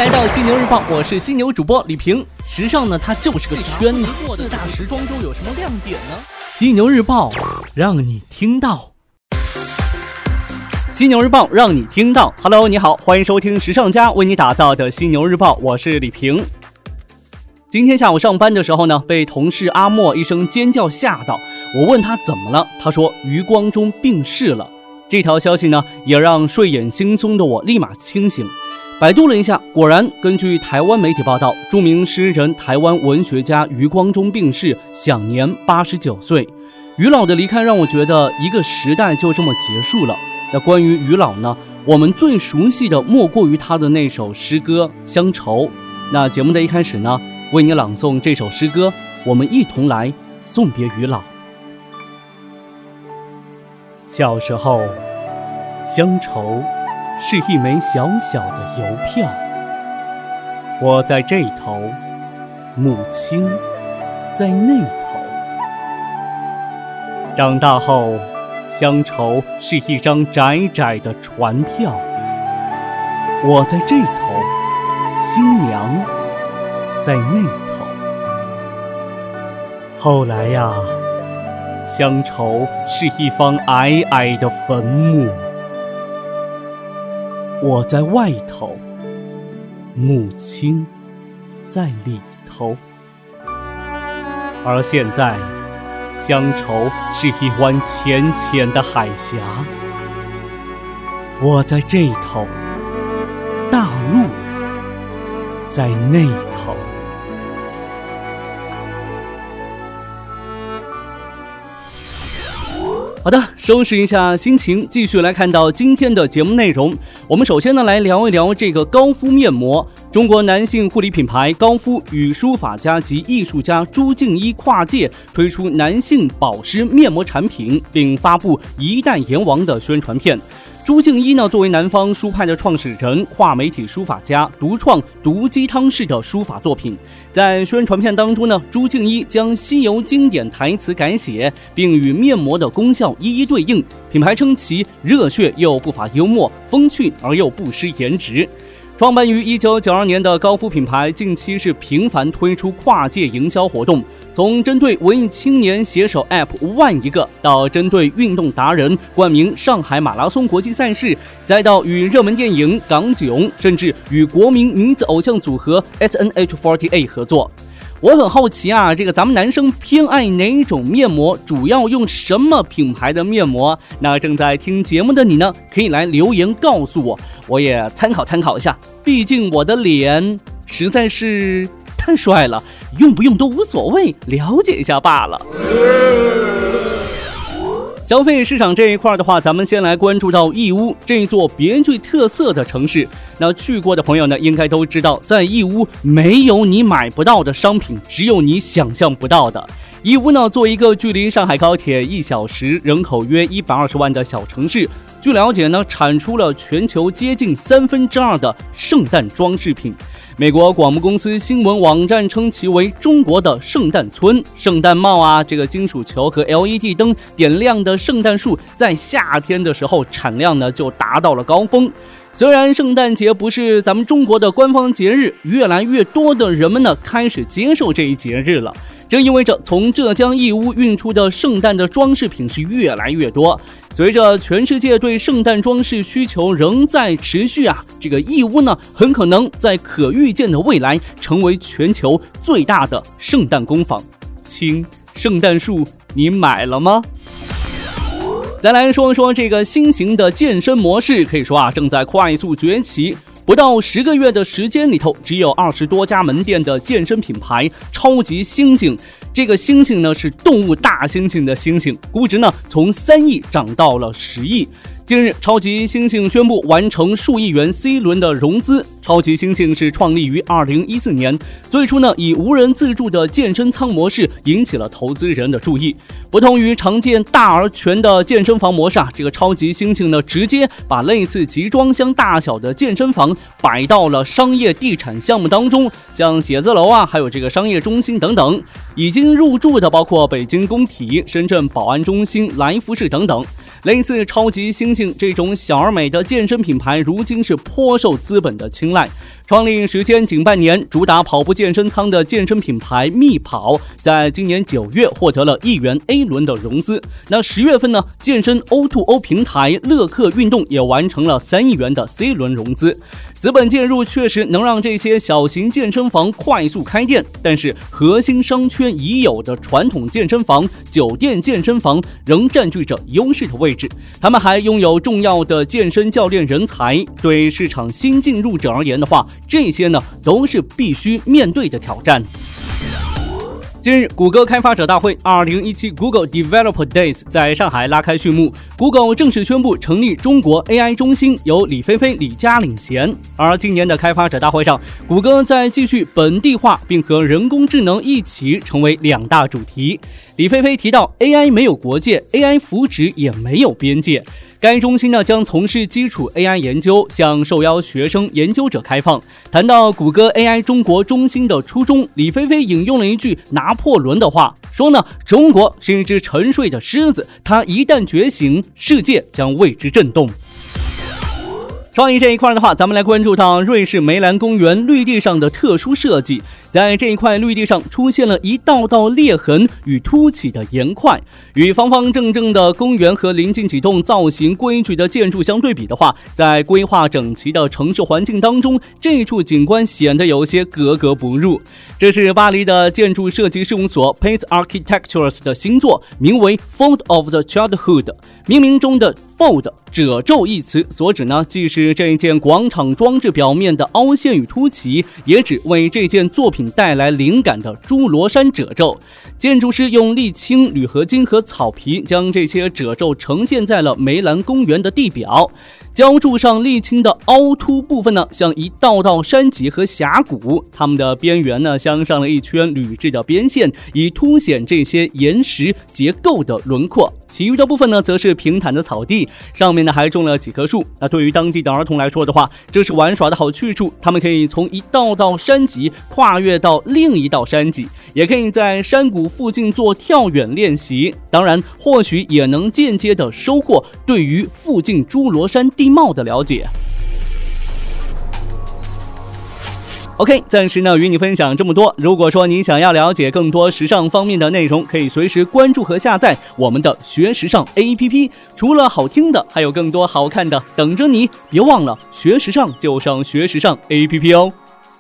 来到犀牛日报，我是犀牛主播李平。时尚呢，它就是个圈子。四大时装周有什么亮点呢？犀牛日报让你听到。犀牛日报让你听到。Hello， 你好，欢迎收听时尚家为你打造的犀牛日报，我是李平。今天下午上班的时候呢，被同事阿莫一声尖叫吓到。我问他怎么了，他说余光中病逝了。这条消息呢，也让睡眼惺忪的我立马清醒。百度了一下，果然根据台湾媒体报道，著名诗人、台湾文学家余光中病逝，享年89岁。余老的离开让我觉得一个时代就这么结束了。那关于余老呢，我们最熟悉的莫过于他的那首诗歌《乡愁》。那节目的一开始呢，为你朗诵这首诗歌，我们一同来送别余老。小时候，乡愁是一枚小小的邮票，我在这头，母亲在那头。长大后，乡愁是一张窄窄的船票，我在这头，新娘在那头。后来呀，乡愁是一方矮矮的坟墓，我在外头，母亲在里头。而现在，乡愁是一湾浅浅的海峡，我在这头，大陆在那头。好的，收拾一下心情，继续来看到今天的节目内容。我们首先呢来聊一聊这个高敷面膜。中国男性护理品牌高敷与书法家及艺术家朱敬一跨界推出男性保湿面膜产品，并发布一代阎王的宣传片。朱敬一呢，作为南方书派的创始人、跨媒体书法家，独创毒鸡汤式的书法作品。在宣传片当中呢，朱敬一将西游经典台词改写，并与面膜的功效一一对应。品牌称其热血又不乏幽默，风趣而又不失颜值。创办于1992年的高敷品牌近期是频繁推出跨界营销活动，从针对文艺青年携手 App 万一个，到针对运动达人冠名上海马拉松国际赛事，再到与热门电影港囧，甚至与国民女子偶像组合 SNH48 合作。我很好奇啊，这个咱们男生偏爱哪种面膜，主要用什么品牌的面膜？那正在听节目的你呢，可以来留言告诉我，我也参考一下。毕竟我的脸实在是太帅了，用不用都无所谓，了解一下罢了。消费市场这一块的话，咱们先来关注到义乌这座别具特色的城市。那去过的朋友呢，应该都知道，在义乌没有你买不到的商品，只有你想象不到的。义乌呢，作为一个距离上海高铁1小时、人口约120万的小城市，据了解呢，产出了全球接近2/3的圣诞装饰品。美国广播公司新闻网站称其为中国的圣诞村。圣诞帽啊，这个金属球和 LED 灯点亮的圣诞树，在夏天的时候产量呢就达到了高峰。虽然圣诞节不是咱们中国的官方节日，越来越多的人们呢开始接受这一节日了。这意味着从浙江义乌运出的圣诞的装饰品是越来越多。随着全世界对圣诞装饰需求仍在持续啊，这个义乌呢很可能在可预见的未来成为全球最大的圣诞工坊。亲，圣诞树你买了吗？再来说说这个新型的健身模式，可以说啊正在快速崛起。不到10个月的时间里头，只有20多家门店的健身品牌超级猩猩。这个猩猩呢是动物大猩猩的猩猩，估值呢从3亿涨到了10亿。近日，超级猩猩宣布完成数亿元 C 轮的融资。超级猩猩是创立于2014年，最初呢以无人自助的健身舱模式引起了投资人的注意。不同于常见大而全的健身房模式啊，这个超级猩猩呢直接把类似集装箱大小的健身房摆到了商业地产项目当中，像写字楼啊，还有这个商业中心等等。已经入驻的包括北京工体、深圳宝安中心、来福士等等。 类似超级猩猩这种小而美的健身品牌，如今是颇受资本的青睐。创立时间仅半年，主打跑步健身舱的健身品牌密跑，在今年9月获得了1元 A 轮的融资。那10月份呢，健身 O2O 平台乐客运动也完成了3亿元的 C 轮融资。资本介入确实能让这些小型健身房快速开店，但是核心商圈已有的传统健身房、酒店健身房仍占据着优势的位置。他们还拥有重要的健身教练人才，对市场新进入者而言的话，这些呢都是必须面对的挑战。近日，谷歌开发者大会2017 Google Developer Days 在上海拉开序幕。Google 正式宣布成立中国 AI 中心，由李飞飞、李佳领衔。而今年的开发者大会上，谷歌在继续本地化，并和人工智能一起成为2大主题。李飞飞提到 ，AI 没有国界 ，AI 福祉也没有边界。该中心呢将从事基础 AI 研究，向受邀学生研究者开放。谈到谷歌 AI 中国中心的初衷，李飞飞引用了一句拿破仑的话，说呢，中国是一只沉睡的狮子，它一旦觉醒，世界将为之震动。创意这一块的话，咱们来关注到瑞士梅兰公园绿地上的特殊设计。在这一块绿地上出现了一道道裂痕与凸起的岩块，与方方正正的公园和临近几栋造型规矩的建筑相对比的话，在规划整齐的城市环境当中，这处景观显得有些格格不入。这是巴黎的建筑设计事务所 Pace Architectures 的新作，名为 Fold of the Childhood。命名中的 Fold 褶皱一词所指呢，既是这一件广场装置表面的凹陷与凸起，也指为这件作品带来灵感的侏罗山褶皱。建筑师用沥青、铝合金和草皮将这些褶皱呈现在了梅兰公园的地表。浇筑上沥青的凹凸部分呢，像一道道山脊和峡谷，它们的边缘呢镶上了一圈铝制的边线，以凸显这些岩石结构的轮廓。其余的部分呢，则是平坦的草地，上面呢还种了几棵树。那对于当地的儿童来说的话，这是玩耍的好去处。他们可以从一道道山脊跨越到另一道山脊，也可以在山谷附近做跳远练习。当然，或许也能间接的收获对于附近侏罗山地貌的了解。OK， 暂时呢与你分享这么多。如果说你想要了解更多时尚方面的内容，可以随时关注和下载我们的学时尚 APP。除了好听的，还有更多好看的等着你。别忘了学时尚就上学时尚 APP 哦。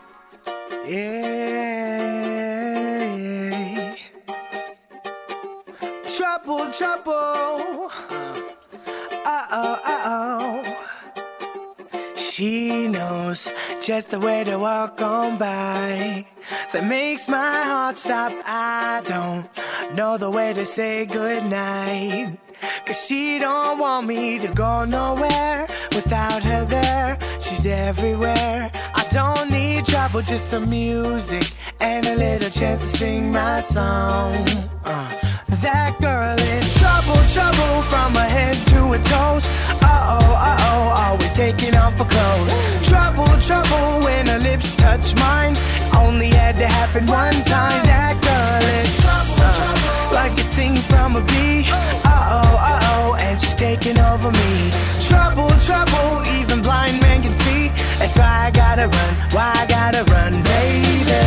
She knows just the way to walk on by that makes my heart stop. I don't know the way to say goodnight, 'cause she don't want me to go nowhere without her there. She's everywhere. I don't need trouble, just some music and a little chance to sing my song. That girl is trouble, trouble from her head to her toes. Always taking off her clothes. Trouble, trouble when her lips touch mine. Only had to happen one time. That girl is like a sting from a bee. And she's taking over me. Trouble, trouble, even blind men can see. That's why I gotta run, why I gotta run, baby.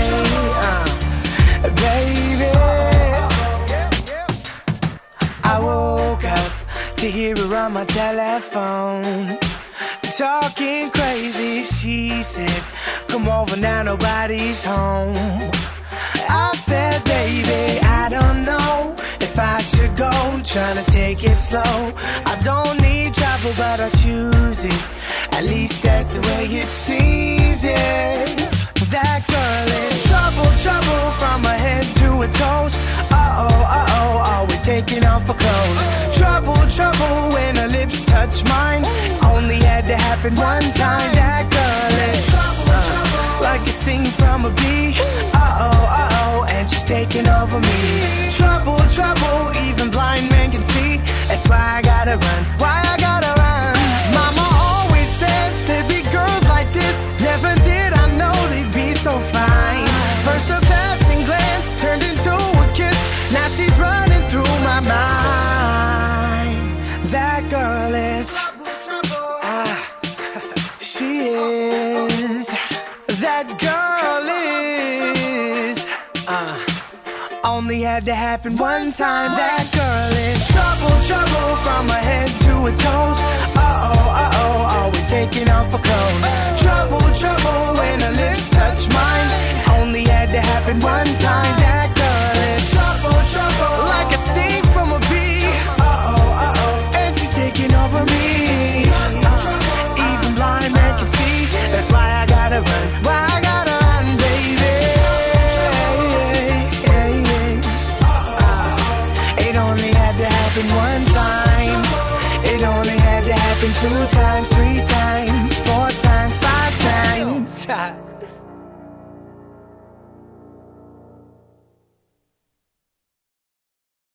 Baby, I woke up to hear her on my telephone, talking crazy. She said, come over now, nobody's home. I said, baby, I don't know if I should go, trying to take it slow. I don't need trouble, but I choose it. At least that's the way it seems, yeah. That girl is trouble, trouble from her head to her toes. Always taking off her clothes. Trouble, trouble when her lips touch mine. Only had to happen one time. That girl is like a sting from a bee. And she's taking over me. Trouble, trouble, even blind men can see. That's why I gotta run, why I gotta run. Mama always said there'd be girls like this. Never did I know they'd be so fine. First a passing glance turned into a kiss. Now she's running through my mind. had to happen one time. That girl is trouble, trouble from her head to her toes. Uh-oh, always taking off her clothes. Trouble, trouble when her lips touch mine. Only had to happen one time. That girl is trouble, trouble like a sting from a bee. Uh-oh, and she's taking over me. Even blind man can see. That's why I gotta run. Why I gotta run, baby. It only had to happen one time. It only had to happen 2 times, 3 times, 4 times, 5 times.